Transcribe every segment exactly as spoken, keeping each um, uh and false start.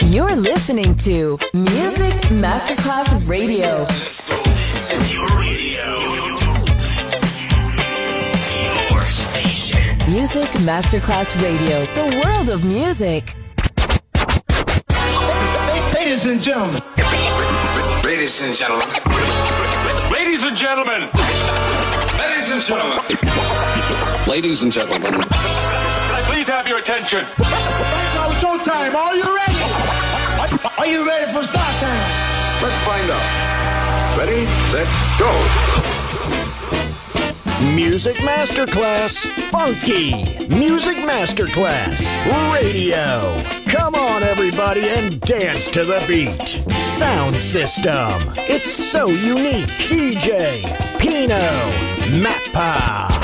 You're listening to Music Masterclass Radio. This is your radio. Your station. Music Masterclass Radio. The world of music. Ladies and gentlemen. Ladies and gentlemen. Ladies and gentlemen. Ladies and gentlemen. Ladies and gentlemen. Can I please have your attention? Now showtime. Are you ready? Are you ready for start time? Let's find out. Ready, set, go. Music Masterclass Funky. Music Masterclass Radio. Come on, everybody, and dance to the beat. Sound system. It's so unique. D J Pino Mappa.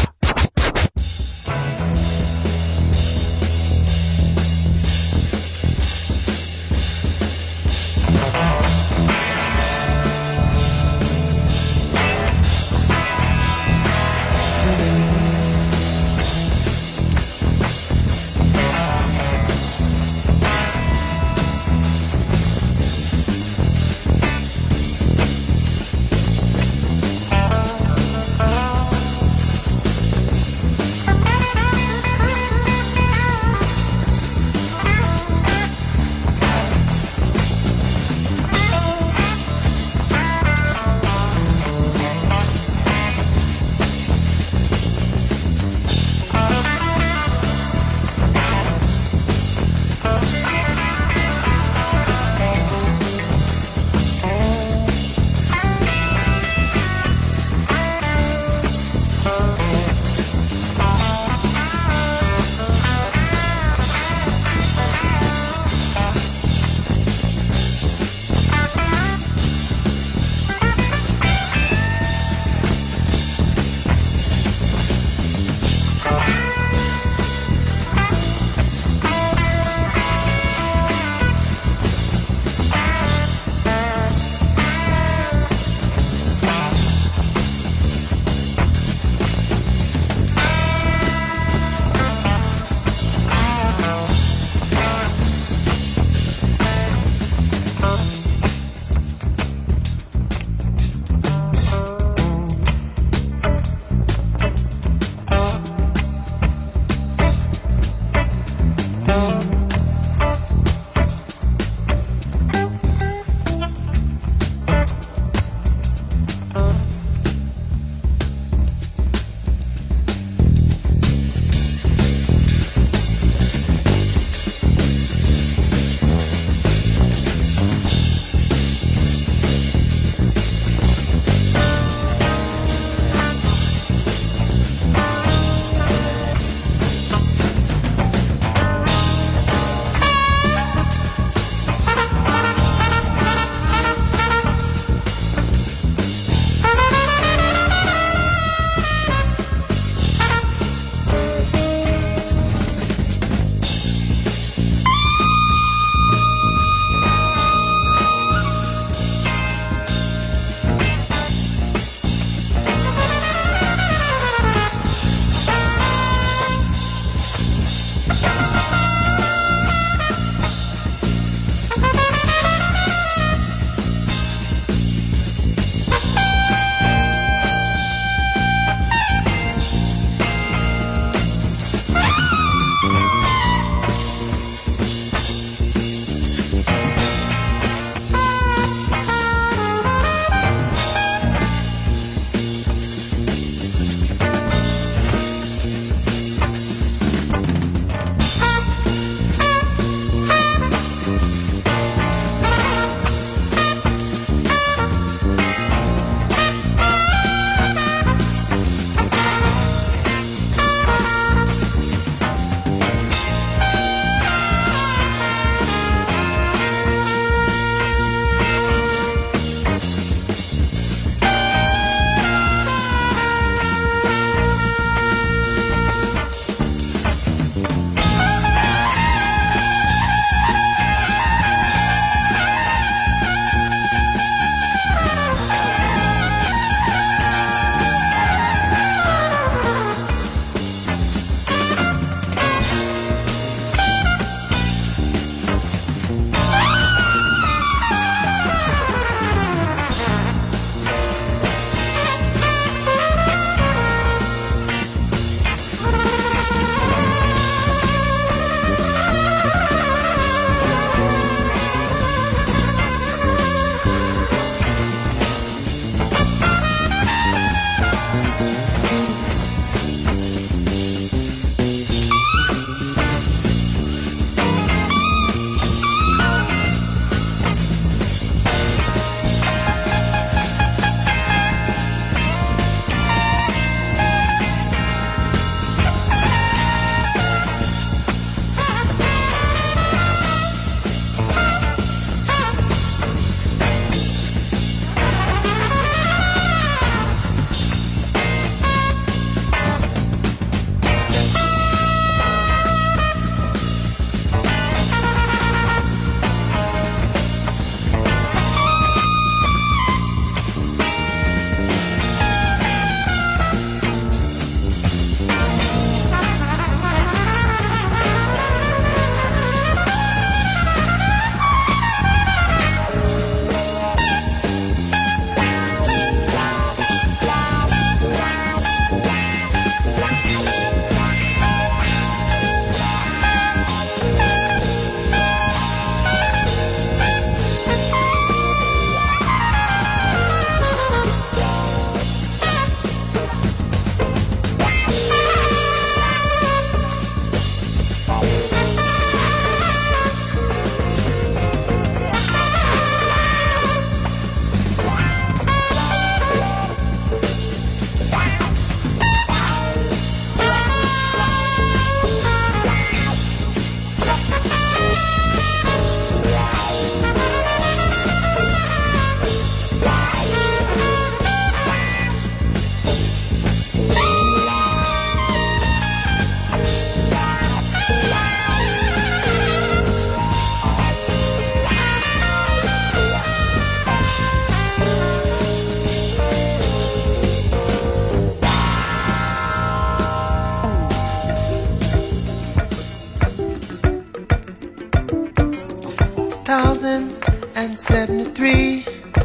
thousand seventy-three,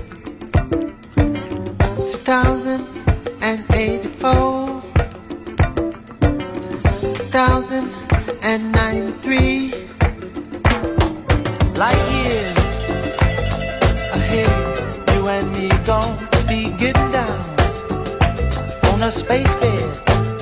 two thousand eighty-four, two thousand ninety-three, light years ahead, you and me gon' be getting down on a space bed.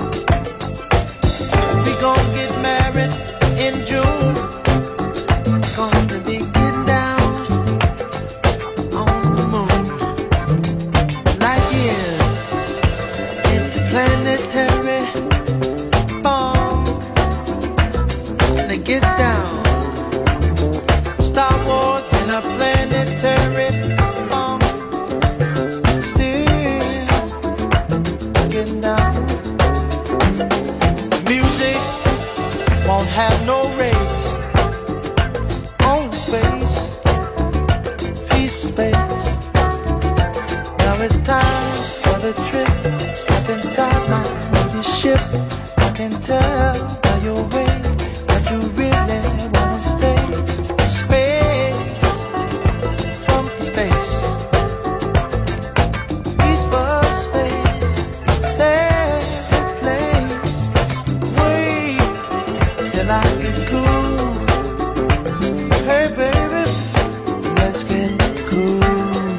We gon' get married in June. Gonna be getting down on the moon. Light years interplanetary bomb. Starting to get down. Star Wars in a planetary bomb. Still getting down. Music won't have no race. On space, peaceful space. Now it's time for the trip. Step inside my Navy ship. I can tell by your way that you really wanna stay. Space, from space, peaceful space, safe place. Wait till I get cool. Hey baby, let's get cool.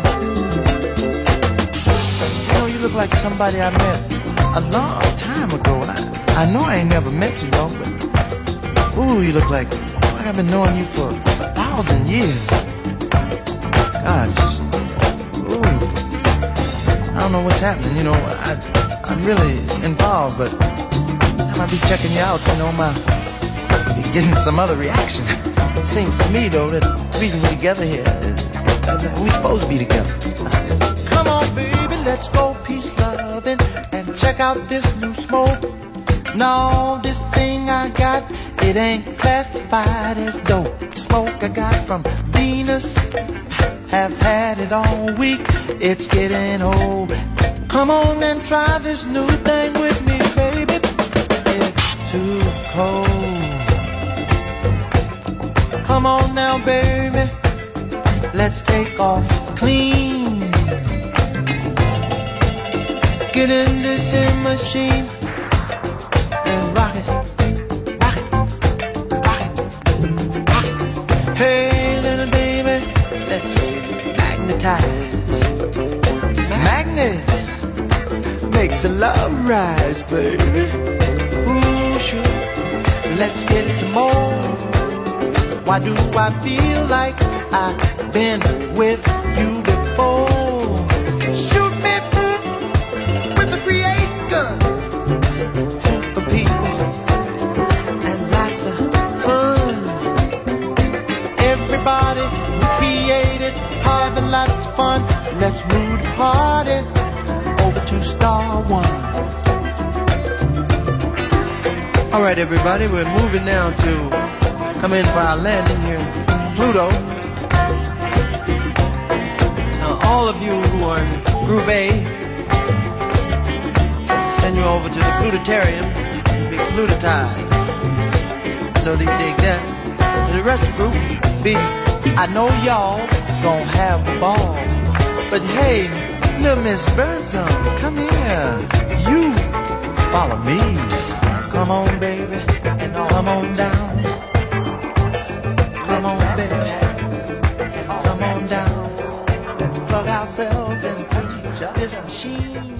You know, you look like somebody I met a long time ago. I, I know I ain't never met you, though, but ooh, you look like, like I've been knowing you for a thousand years. Gosh, ooh, I don't know what's happening. You know, I, I'm really involved, but every time I be checking you out, you know, my be getting some other reaction. It seems to me, though, that the reason we're together here is that we're supposed to be together. Come on, baby, let's go peace loving and check out this new smoke. No, this thing I got, it ain't classified as dope. Smoke I got from Venus, have had it all week. It's getting old. Come on and try this new thing with me, baby. It's too cold. Come on now, baby, let's take off clean. Get in this here machine and rock it, rock it, rock it, rock it. Hey, little baby, let's magnetize. Magnets makes the love rise, baby. Ooh, sure, let's get some more. Why do I feel like I've been with you before? Shoot me with a create gun. Super people and lots of fun. Everybody created, having lots of fun. Let's move the party over to Star One. All right, everybody, we're moving now to come in for our landing here in Pluto. Now, all of you who are in Group A, send you over to the Plutarium to be plutotized. So that you dig that. And the rest of the group, B, I know y'all gon' have a ball. But hey, little Miss Birdsong, come here. You follow me. Come on, baby, and come on down. Come on, baby, come on down. Let's plug ourselves into this machine.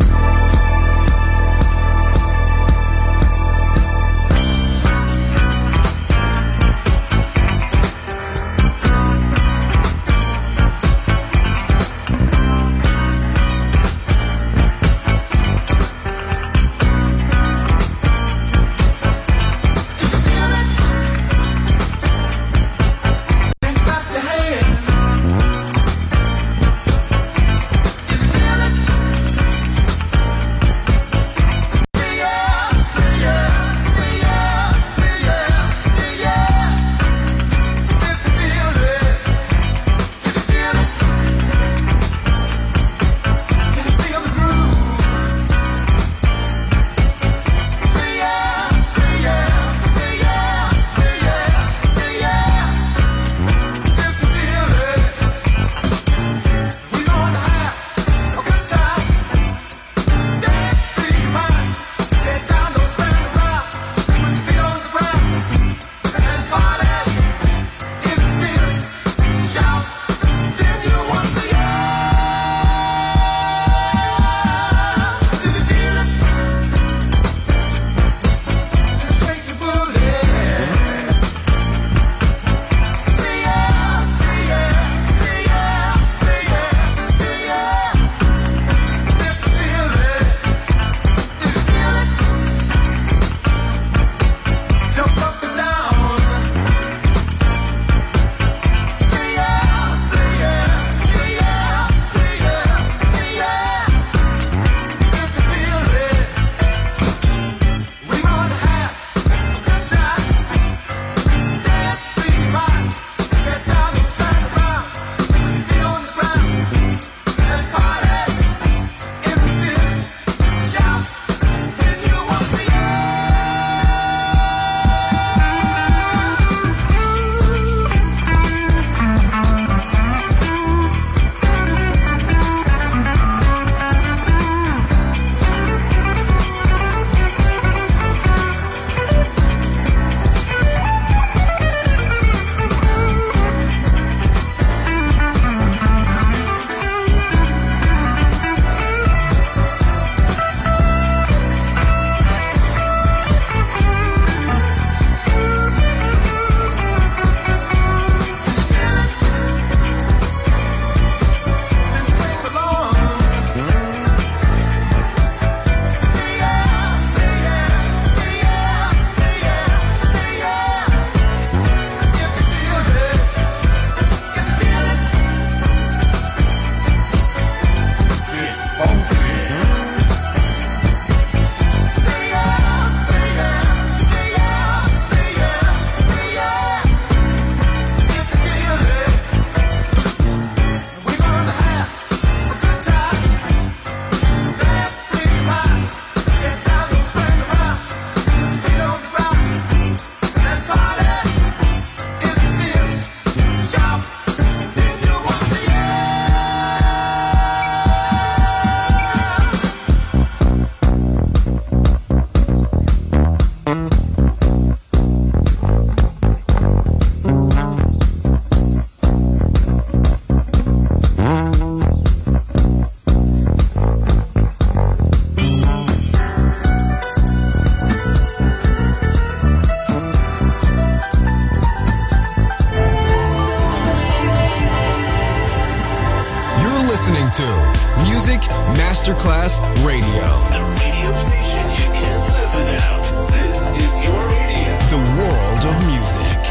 listening to Music Masterclass Radio. The radio station you can't live without. This is your radio. The world of music.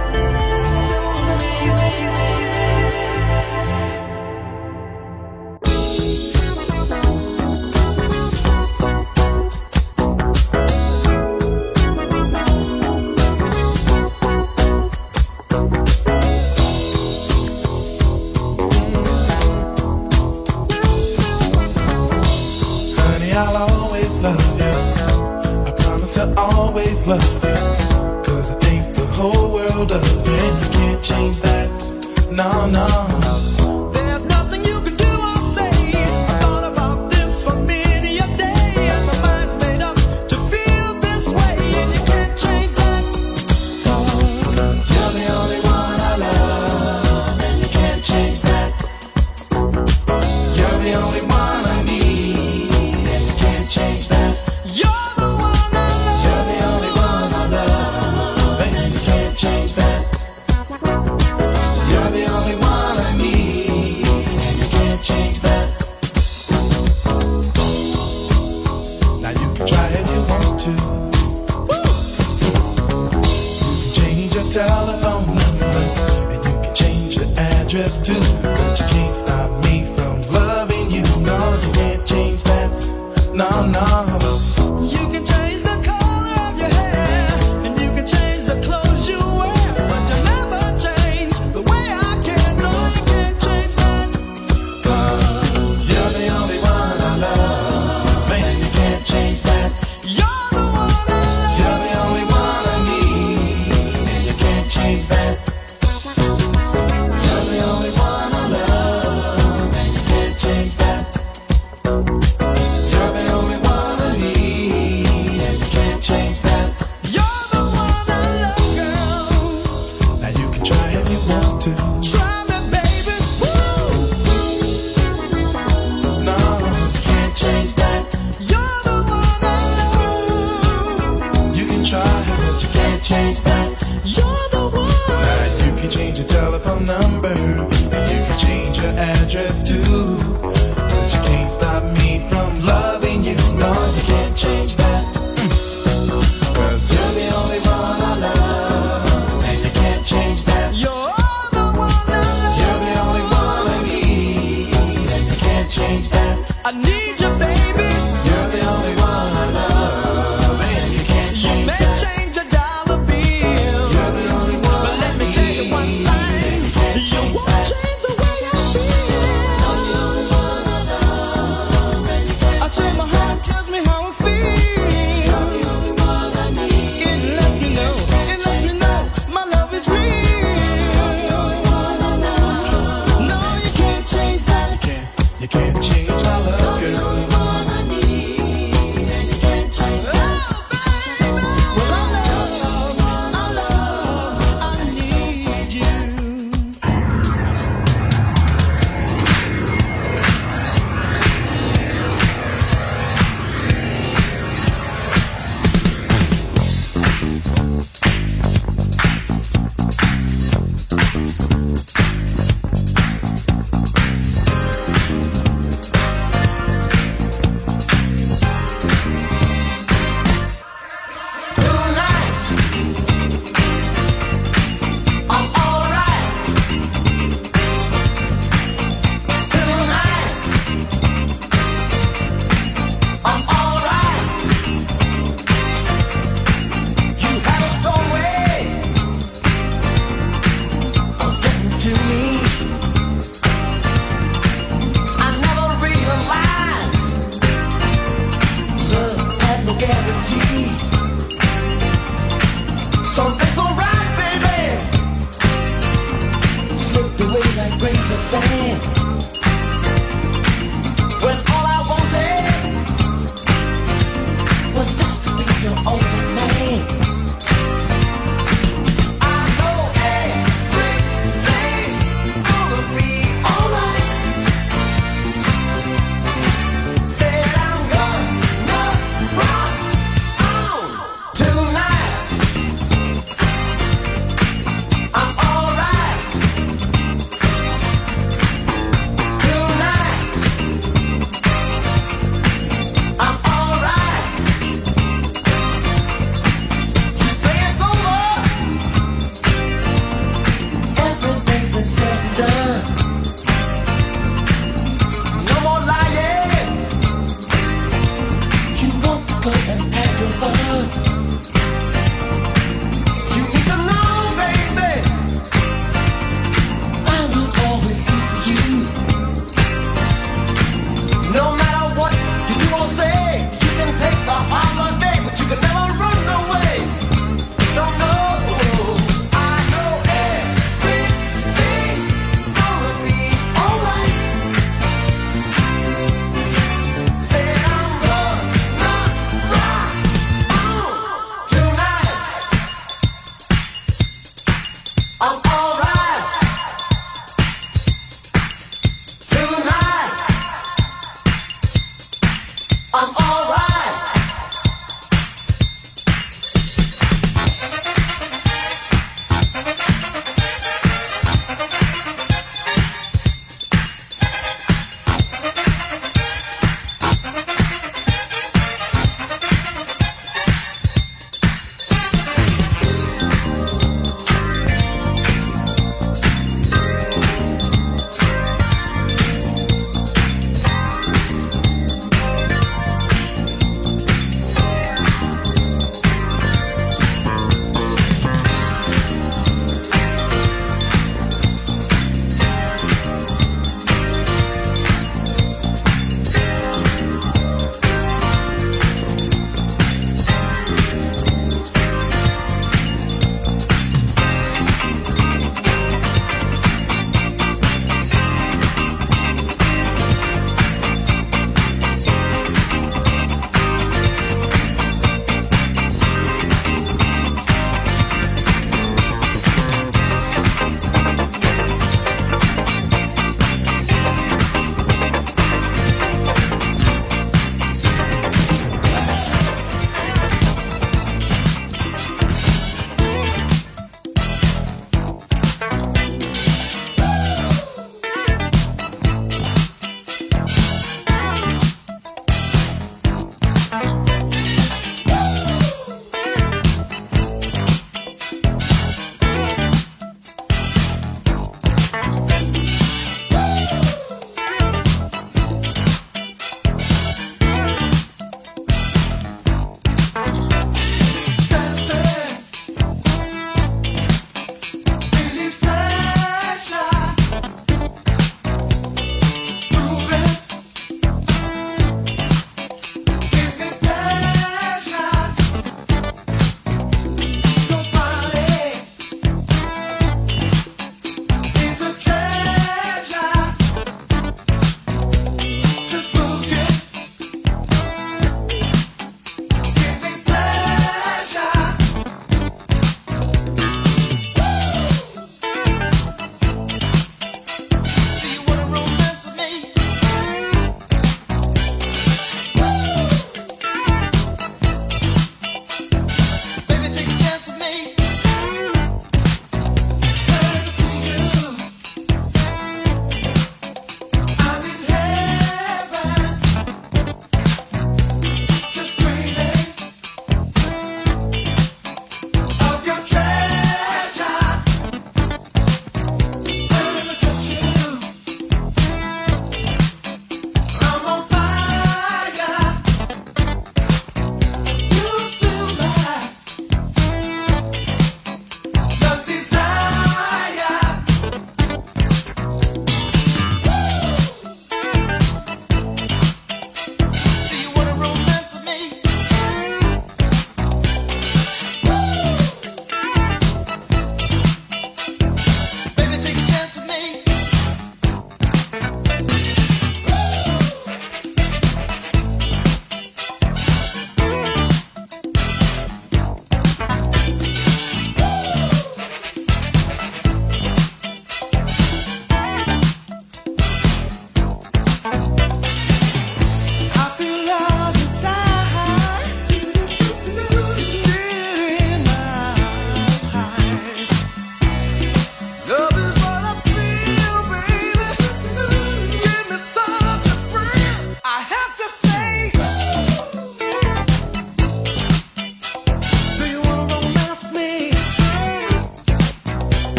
Love you, cause I think the whole world of you, and you can't change that, no, no. There's nothing you can do or say. I thought about this for many a day, and my mind's made up to feel this way, and you can't change that. Cause you're the only one I love, and you can't change that. You're the only one I need, and you can't change that. You're telephone number, and you can change your address too, but you can't stop me from loving you. No, you can't change that. No, no. You can change the color of your hair, and you can change the clothes you wear, but you never change the way I care. No, you can't change that. Cause you're the only one I love, man, you can't change that. You're the one I love. You're the only one I need. Change that. You're the only one I love, and you can't change that. You're the only one I need, and you can't change that. You're the one I love, girl. Now you can try if you want to. Try me, baby. Woo! No, you can't change that. You're the one I love. You can try, but you can't change that. You're the one. You can change your telephone number, and you can change your address too, but you can't stop me from loving you. No, you can't change that. Cause you're the only one I love, and you can't change that. You're the one I love. You're the only one I need, and you can't change that. I need you, baby. You're the only one I love, and you can't change that. You may change your dollar bill, you're the only one, but let me tell you one thing, you won't change the way I feel. You're the only one I love, and you can't. I say my heart tells me how I feel. You're the only one I need. It lets me know, it lets me know my love is real. You're the only one I love. No, you can't change that. You can't, you can't change my love, girl. You're the only one I need, and you can't change that. Well, I love, I love, I need you.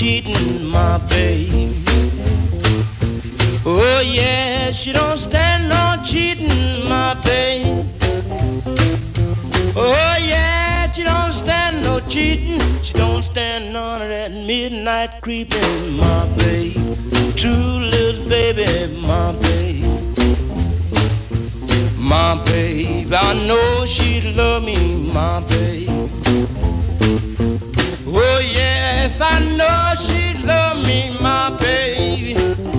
cheating, my babe. Oh yeah, she don't stand no cheating, my babe. Oh yeah, she don't stand no cheating. She don't stand none of that midnight creeping, my babe. True little baby, my babe. My babe, I know she'd love me, my babe. Oh yes, I know she'd love me, my baby.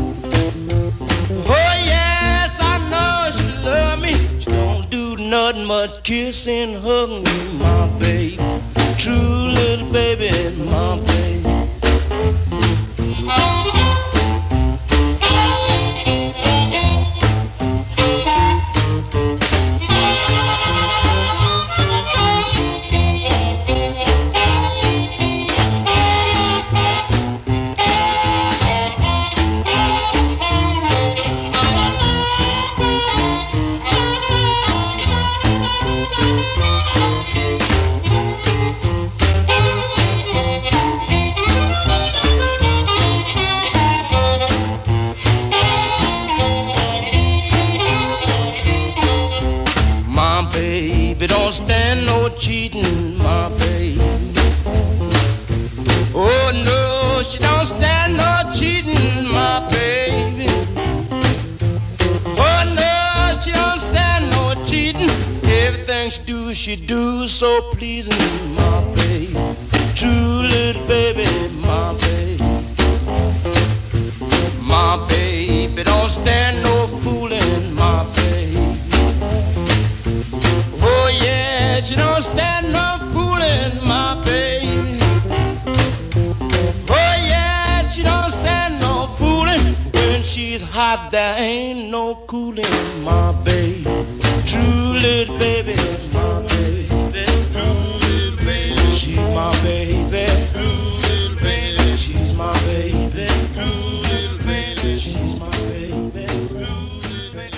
Oh yes, I know she'd love me. She don't do nothing but kiss and hug me, my babe. True little baby, my babe. Don't stand no cheating, my babe. Oh no, she don't stand no cheating, my baby. Oh no, she don't stand no cheating. Everything she do, she do so pleasing, my babe. True little baby, my babe. My baby don't stand no fooling, my babe. Oh yeah, she don't stand no fooling, my baby. Oh yeah, she don't stand no fooling. When she's hot, there ain't no cooling, my baby. True little baby, my baby. True little baby, she's my baby. True little baby, she's my baby. True little baby, she's my baby. True little baby.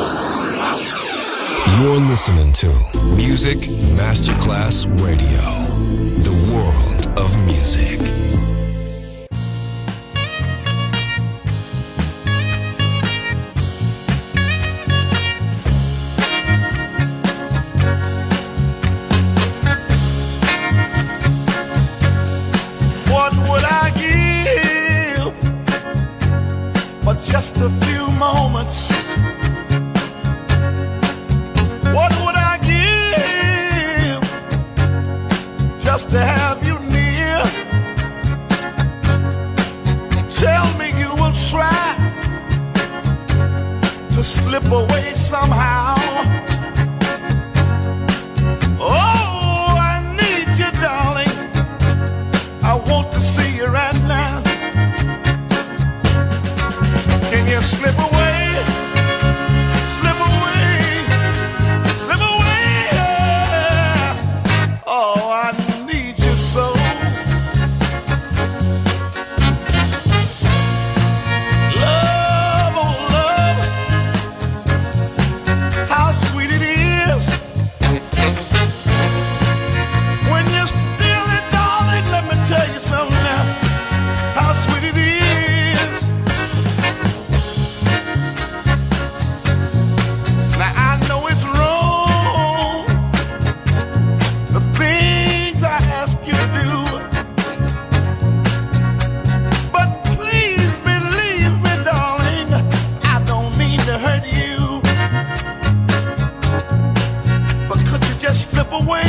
You're listening to Music Masterclass Radio, the world of music. What would I give for just a few moments? What would I give just to have you near? Tell me you will try to slip away somehow. Oh, I need you, darling. I want to see you right now. Can you slip away? Slip away. Slip away, yeah. Oh, I need you so. Love, oh love, how sweet it is when you're still it, darling. Let me tell you something now. How sweet it is. Now I know it's wrong, the things I ask you to do, but please believe me, darling, I don't mean to hurt you. But could you just slip away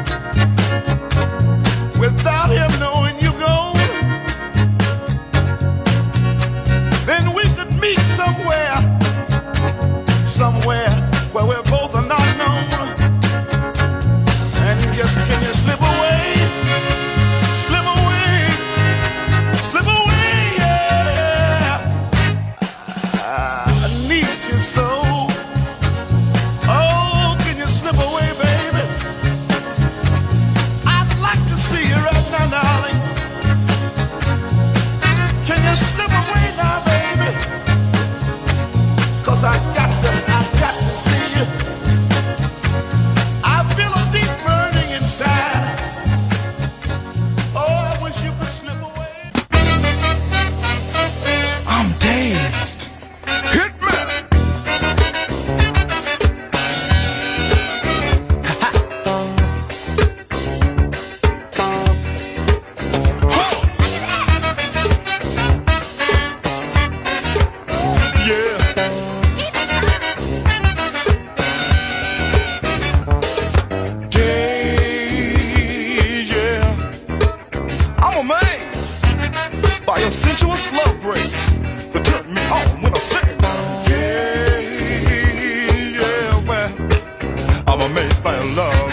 without him knowing you gone? Then we could meet somewhere, somewhere where we're both are not known. And just can you slip away, slip away, slip away, yeah. I need you so. Oh, can you slip away, baby? I'm amazed by your love.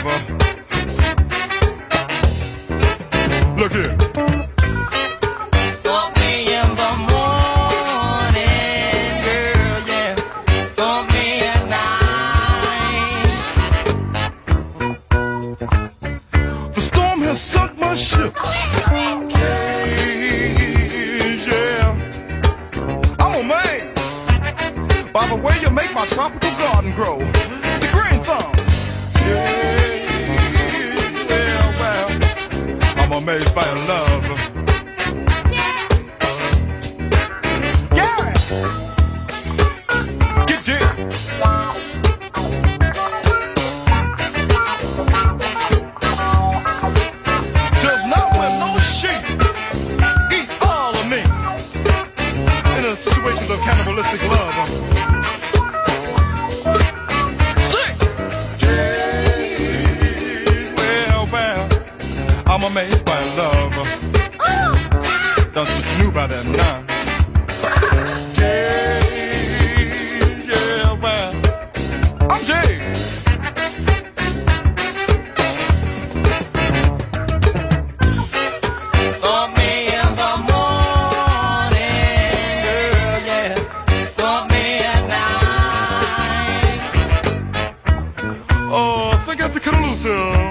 Look here. Call me in the morning, girl, yeah. Call me at night. The storm has sunk my ship. Yeah. I'm amazed by the way you make my tropical garden grow. The green thumb. Yeah, well, I'm amazed by your love. Yeah. Get deep. Does not wear no sheep. Eat all of me. In a situation of cannibalistic love. I'm amazed by love. Oh. Don't you knew about that now? Yeah, yeah, well, I'm Jay. Call me in the morning, girl, yeah. Call me at night. Oh, think I could lose him.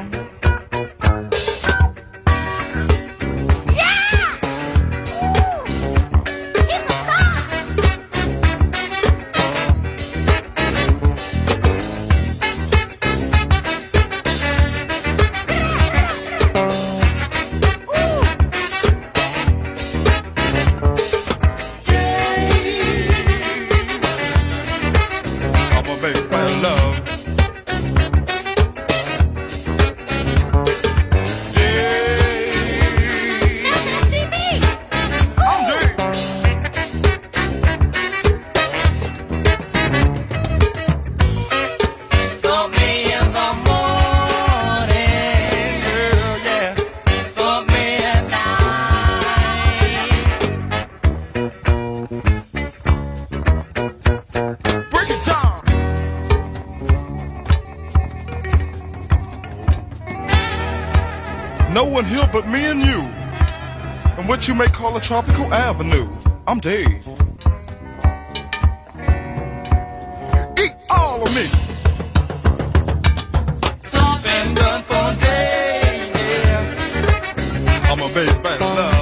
No one here but me and you, and what you may call a tropical avenue. I'm Dave. Eat all of me. Been done for days, yeah. I'm amazed by love.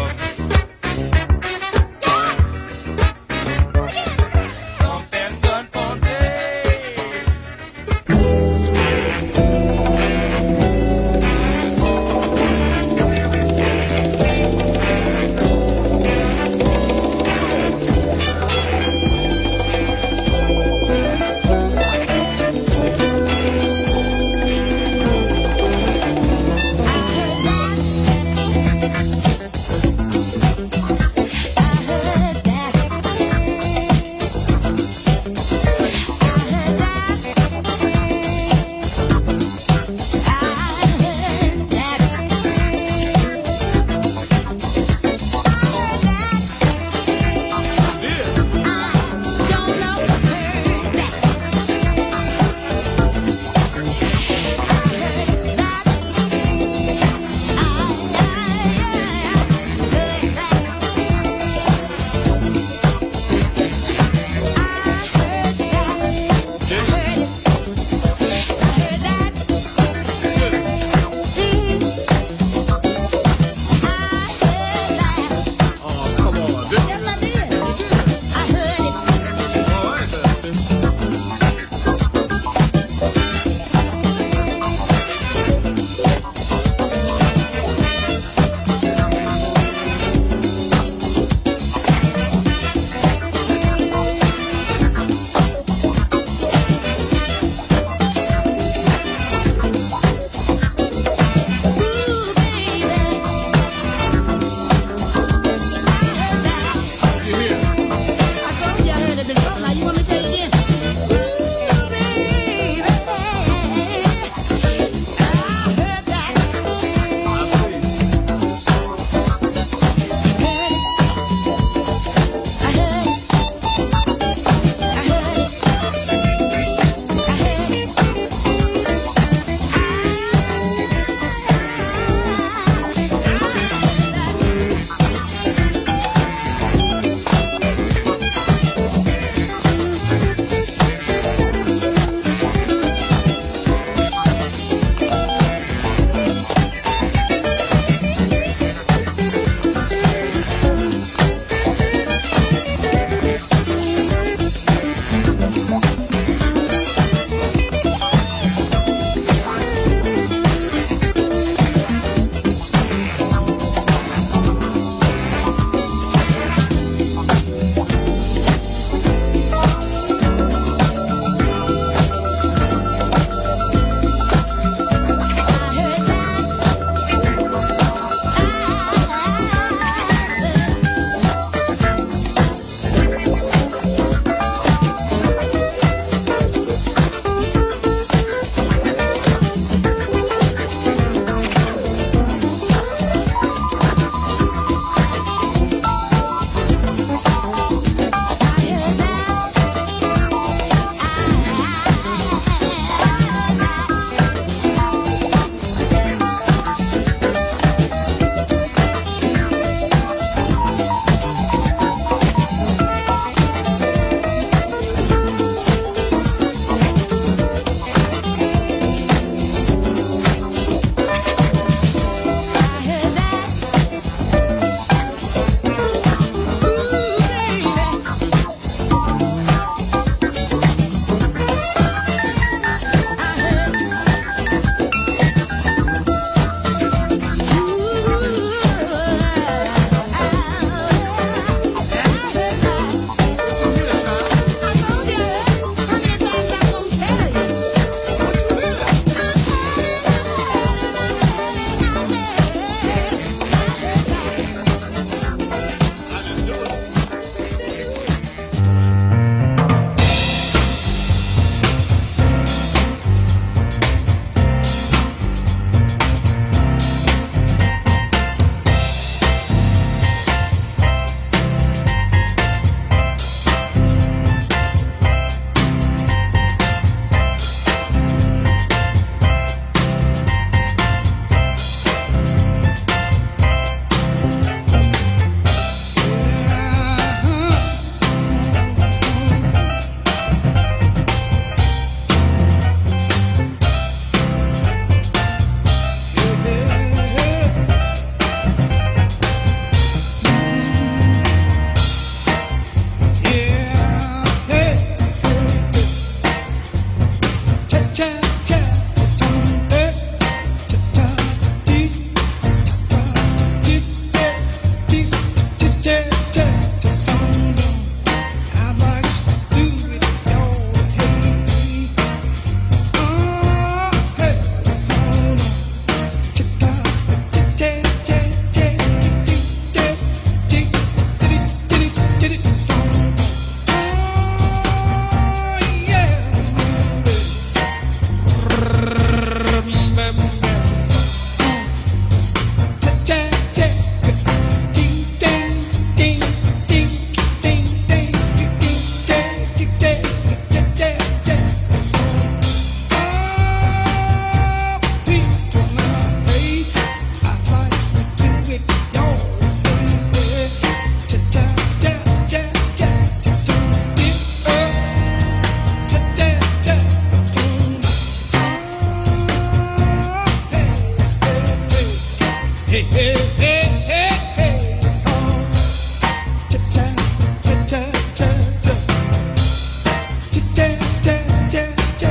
Hey, hey, hey, hey, hey. Oh. Cha-cha, cha-cha, cha-cha. Cha-cha, cha-cha, cha-cha.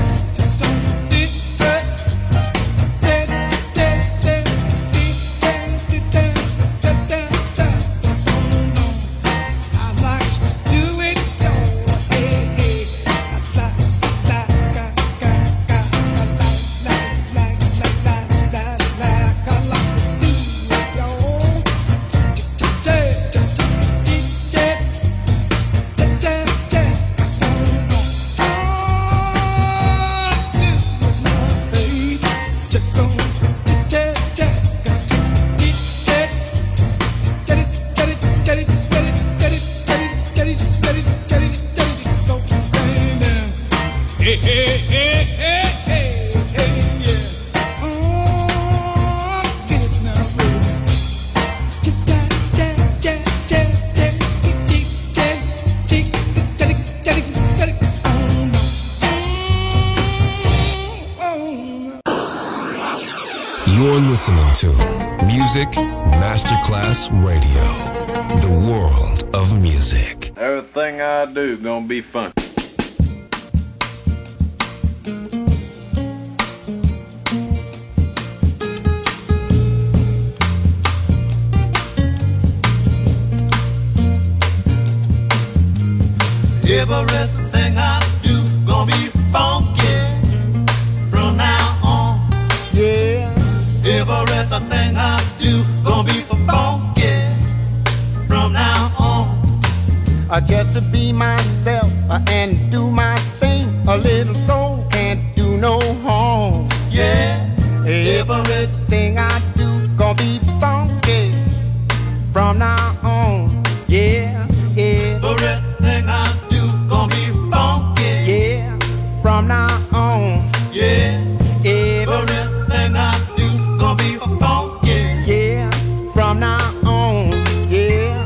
You're listening to Music Masterclass Radio, the world of music. Everything I do gonna be fun. Everything I do gonna be funky from now on. Yeah. Everything I do gonna be funky from now on. Uh, just to be myself uh, and do my thing. A little soul can't do no harm. Yeah. Everything I do gonna be funky from now on. Yeah. Everything I do gonna be funky. Yeah. From now on. Yeah. Everything I do gonna be funky. Yeah. From now on. Yeah.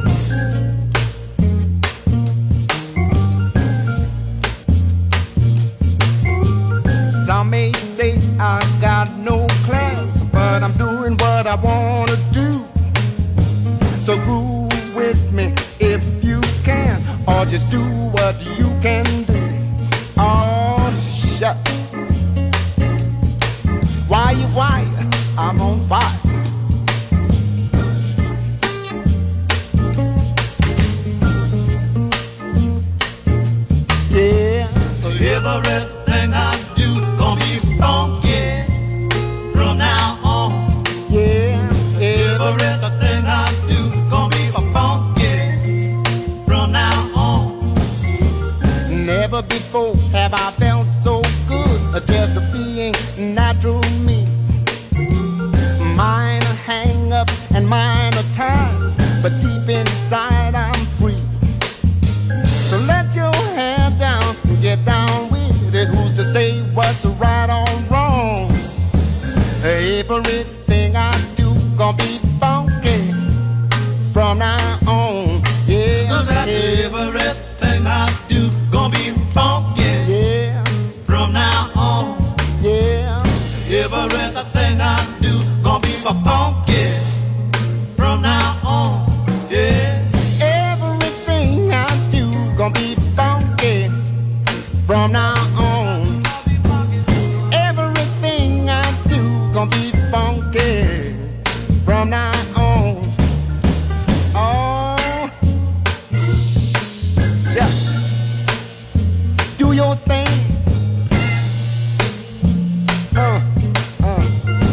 Some may say I got no class, but I'm doing what I wanna do. So groove with me if you can, or just do what you can do. Oh, shut. Why you why? I'm on fire. Yeah. Everything I do gonna be funky from now on. Yeah. Everything I do gonna be funky from now on. Never before have I felt so good, uh, just being natural me. Mine a hang up and mine a ties, but deep inside I'm free. So let your hair down and get down with it. Who's to say what's right or wrong? Everything I do gonna be funky from now on. Yeah. Everything I do gonna be funky. Yeah. From now on. Yeah. Everything I do gonna be funky from now on. Yeah. Everything I do gonna be funky from now on. Everything I do gonna be funky from now on. Oh, yeah. Do your thing. Uh, uh.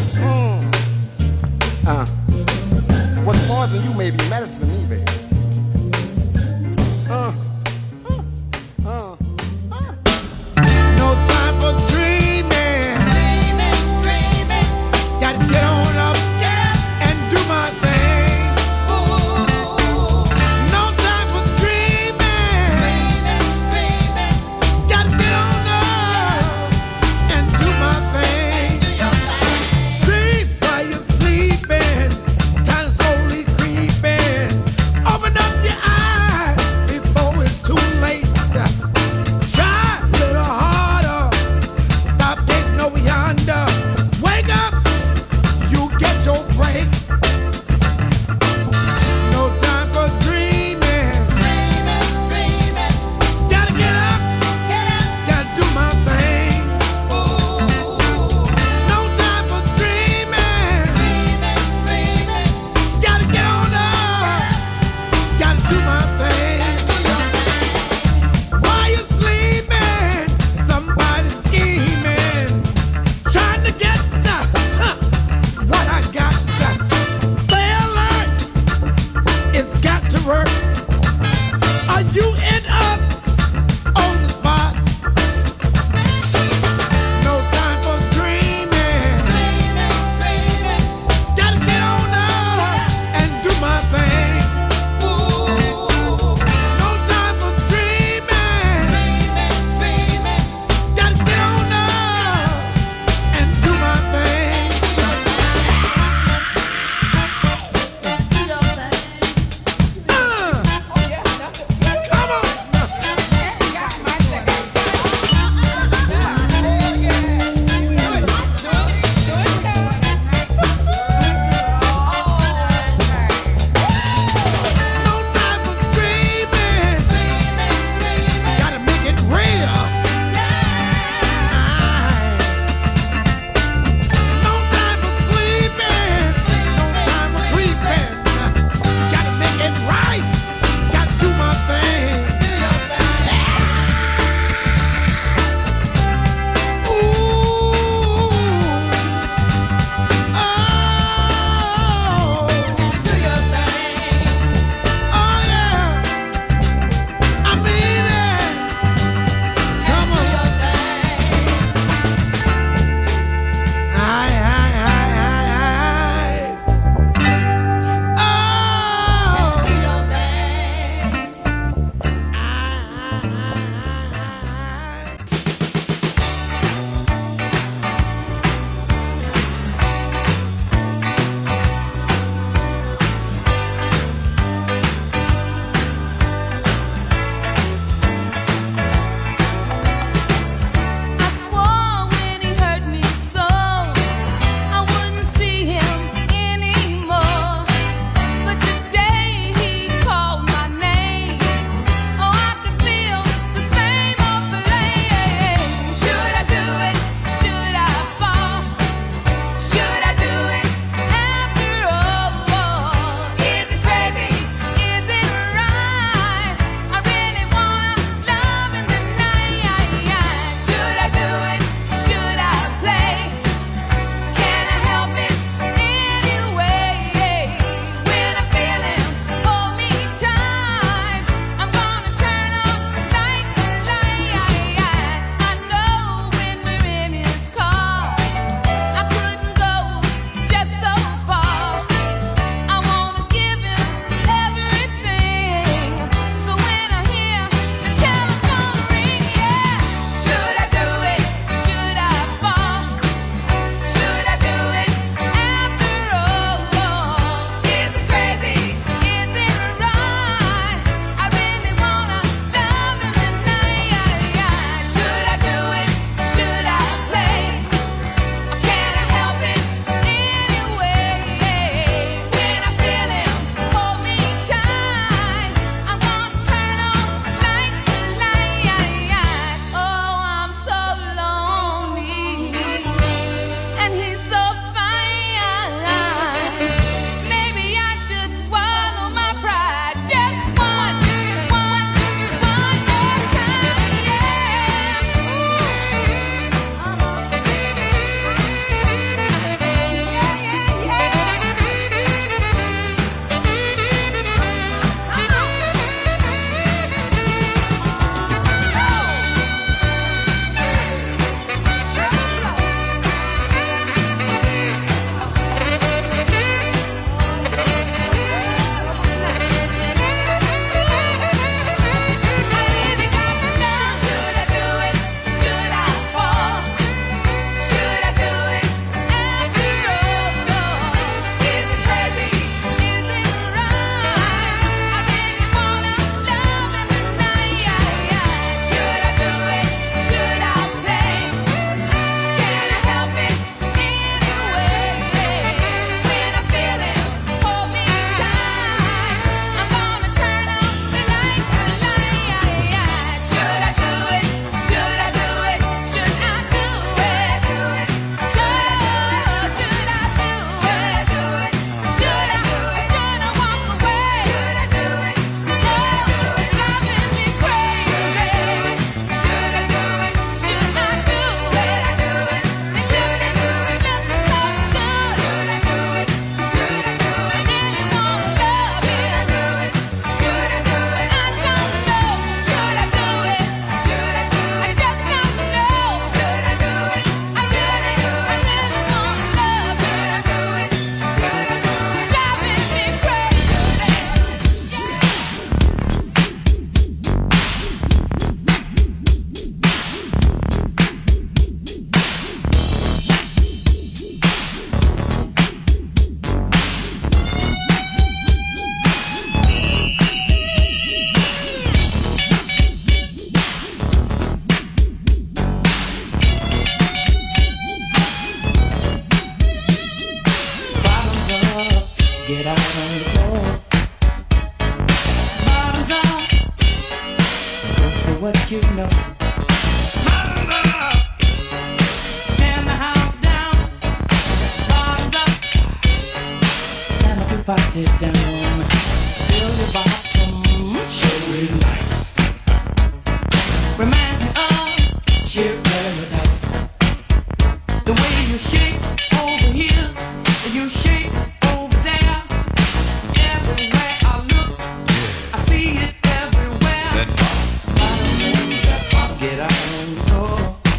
get out on the floor. Bottoms up, go for what you know. Bottoms up, tear the house down. Bottoms up, time to put it down. Feel your bottom, show is nice. Reminds me of sheer paradise. The way you shake over here, you shake over there. Everywhere I look, I see it everywhere. That bottom, that bottom, get out on the floor.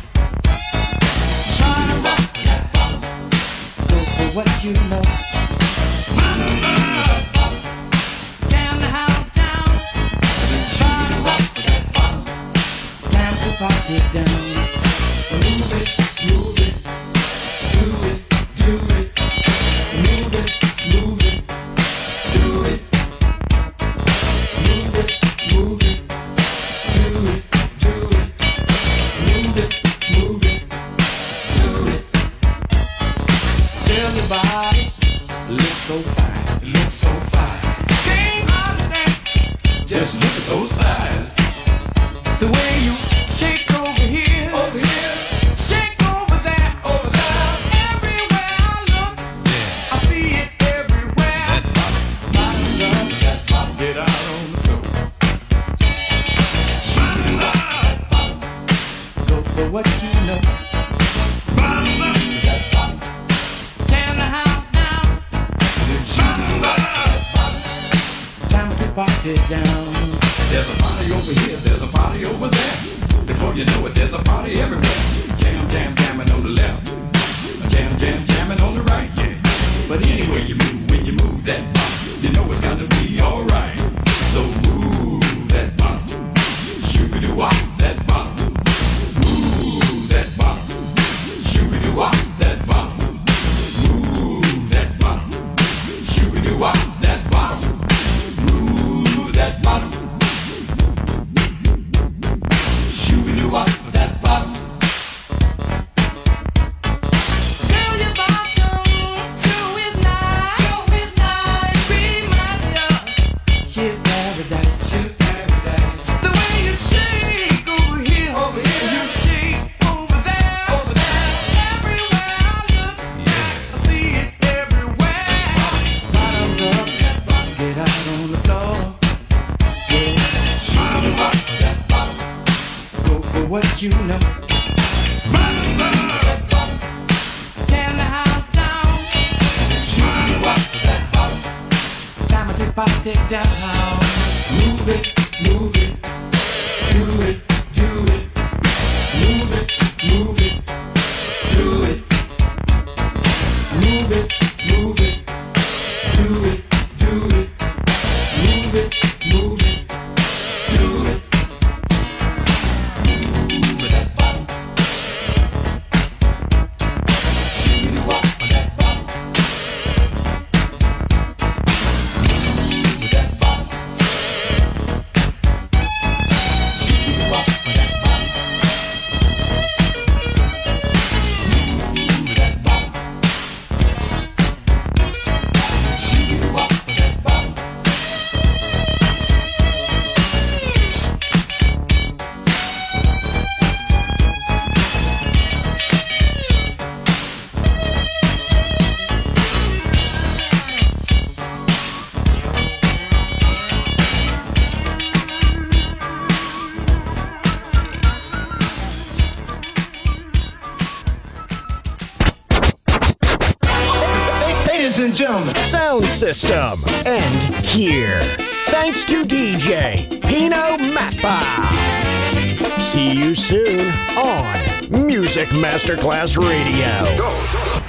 Shine a rock, that bottom, go for what you know. Bottom, that bottom, tear the house down. Shine a rock, that bottom, time to party down. Move it, move it. Do it, do it, move it, move it, do it, move it, move it, do it, do it, move it, move it, do it. Girl, your body looks so fine, it looks so fine. Came out of that, just look at those thighs. The way you shake over here, over here. What you know. Bottom up, that bottom. Tear the house down. Bottom up, that bottom. Time to party down. There's a party over here, there's a party over there. Before you know it, there's a party everywhere. Jam, jam, jamming on the left. Jam, jam, jamming on the right, yeah. But anyway you move, when you move that bottom, you know it's got to be alright. So move that bottom. Shoo-be-doo-wop, that bottom. Wop that bottom, move that bottom, shoo-be-doo wop that bottom, move that bottom, shoo-be-doo wop that bottom. Girl, your bottom sure is nice, sure is nice. Reminds me of sheer paradise, sheer paradise. The way you shake over here, over here, you shake. What you know. Bottom up, that bottom. Tear the house down. Shoot you up, that bottom. Time to party down. Move it, move it, do it, do it. Move it, move it, do it. Move it, move it, do it, do it. Move it, move it, do it. Sound system. And here. Thanks to D J Pino Mappa. See you soon on Music Masterclass Radio. Go.